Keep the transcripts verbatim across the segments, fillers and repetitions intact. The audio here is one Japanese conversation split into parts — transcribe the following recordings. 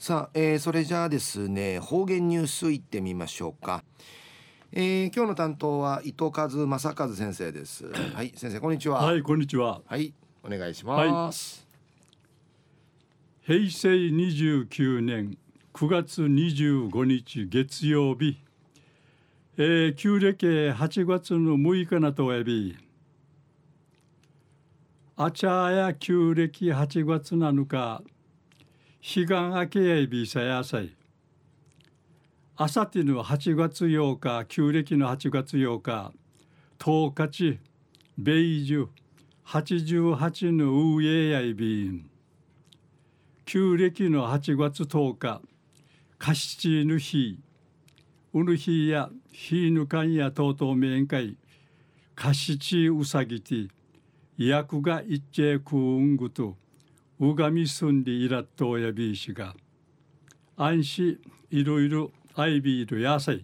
さあ、えー、それじゃあですね、方言ニュースいってみましょうか。えー、今日の担当は伊藤和正和先生です。はい、先生こんにちは。 はい、こんにちは。 はい、お願いしはい、 ます。 平成にじゅうきゅうねんくがつにじゅうごにち月曜日、えー、旧暦はちがつのむいかなとえび、あちゃや旧暦はちがつなのか、彼岸明けやいびさやさい。あさってのはちがつようか、旧暦のはちがつようか、とおかち、米寿、はちじゅうはちのうえやいびん。旧暦のはちがつとおか、かしちぬ日、うぬ日や日ぬかんやとうとうめんかい、かしちうさぎて、やくがいっちえくうんぐと、うがみすんりいらっとうやびいしが、あんしいろいろあいびいるやさい。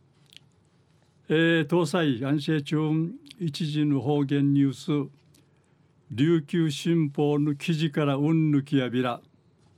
えー、東西安政中一時の方言ニュース、琉球新報の記事からうんぬきやびら、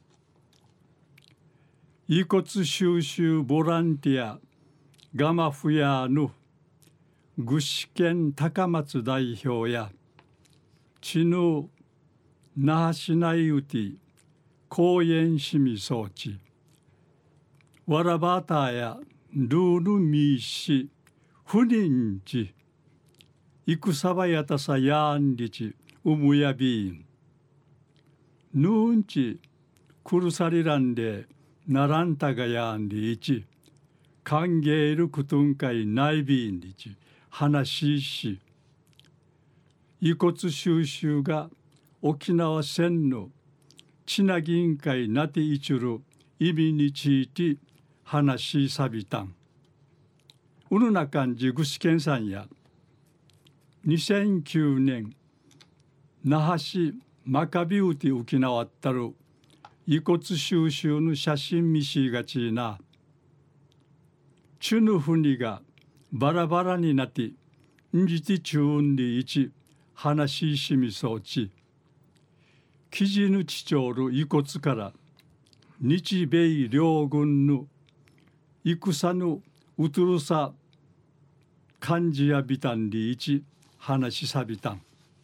遺骨収集ボランティアガマフヤーの具志堅高松代表や知能那覇市内うて公園市民装置わらばたやルールミーシ不妊地戦場やたさやんりちうむやびんぬんちくるさりらんでならんたがやんりいち歓迎るくとんかいないびんりち話しし遺骨収集が沖縄戦のちなぎんかいなていちる意味について話しさびたんうぬなかんじぐしけんさんやにせんきゅうねん那覇市マカビウティ沖縄ったる遺骨収集の写真見しがちなチュヌフニがバラバラになってんじてチューンでいち話ししみそうち記事のちちょる遺骨から日米両軍の戦のうとるさ漢字やビタンでいち話しさびたん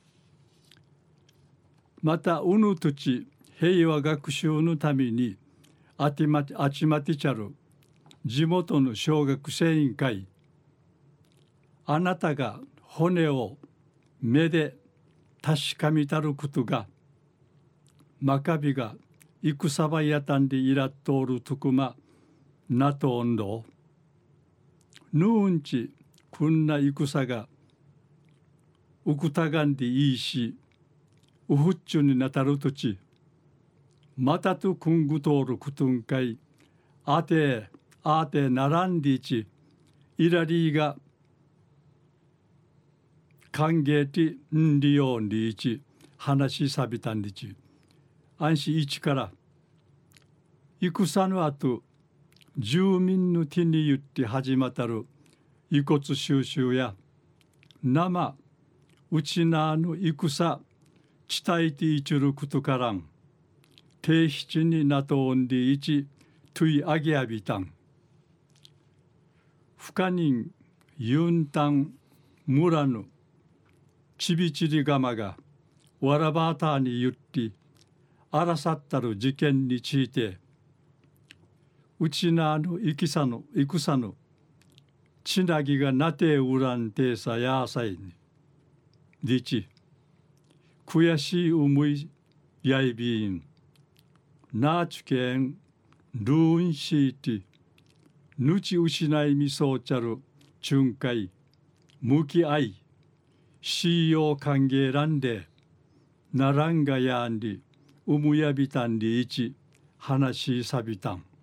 またうぬとち平和学習のためにあちまちあちまてちゃる地元の小学生委員会あなたが骨を目で確かめたることがマカビが戦場やたんでいらっとおるとくまなとんどぬんちくんな戦がうくたがんでいいしうふっちゅになたるとちまたとくんぐとおるくとんかいあてあてならんりちいらりが歓迎てんりよんりち話しさびたんりち安心一から戦の後住民の手に言って始まったる遺骨収集や生うちなの戦伝えていちることからん定七になとんでいちといあげあびたん不可人ユンタン村のちびちりがまがわらばたに言ってあらさったる事件についてうちなの戦の戦のちなぎがなてうらんてさやさいにりち悔しい思いやいびんなあちけんルーンシーティぬち失いみそうちゃるちゅんかい向き合いしよう歓迎らんでならんがやんりうむやびたんりいち話しさびたん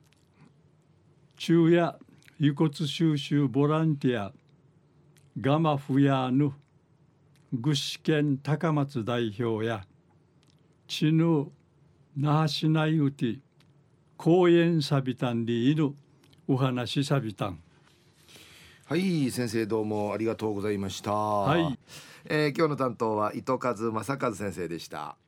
昼夜遺骨収集ボランティアガマフヤーヌ具志堅高松代表や知ぬ那覇市内うて公園さびたんりいるお話さびたんはい、先生どうもありがとうございました。 はい、 えー、今日の担当は伊藤和正和先生でした。